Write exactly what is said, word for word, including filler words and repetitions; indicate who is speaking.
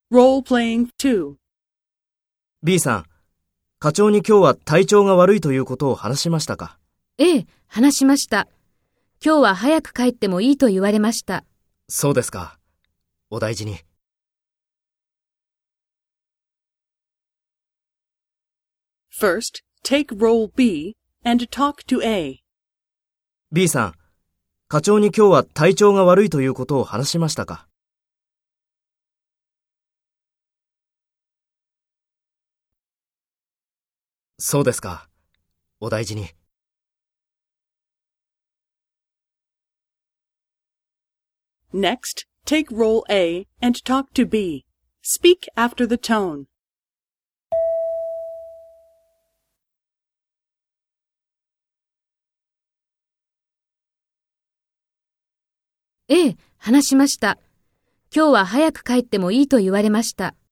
Speaker 1: Role-playing two.
Speaker 2: B さん、課長に今日は体調が悪いということを話しましたか？
Speaker 3: ええ、話しました。今日は早く帰ってもいいと言われました。
Speaker 2: そうですか。お大事に。
Speaker 1: First, take role B and talk to A.
Speaker 2: B さん、課長に今日は体調が悪いということを話しましたか？そうですか。お大事に。
Speaker 1: Next, take role A and talk to B. Speak after the tone.
Speaker 3: ええ、話しました。今日は早く帰ってもいいと言われました。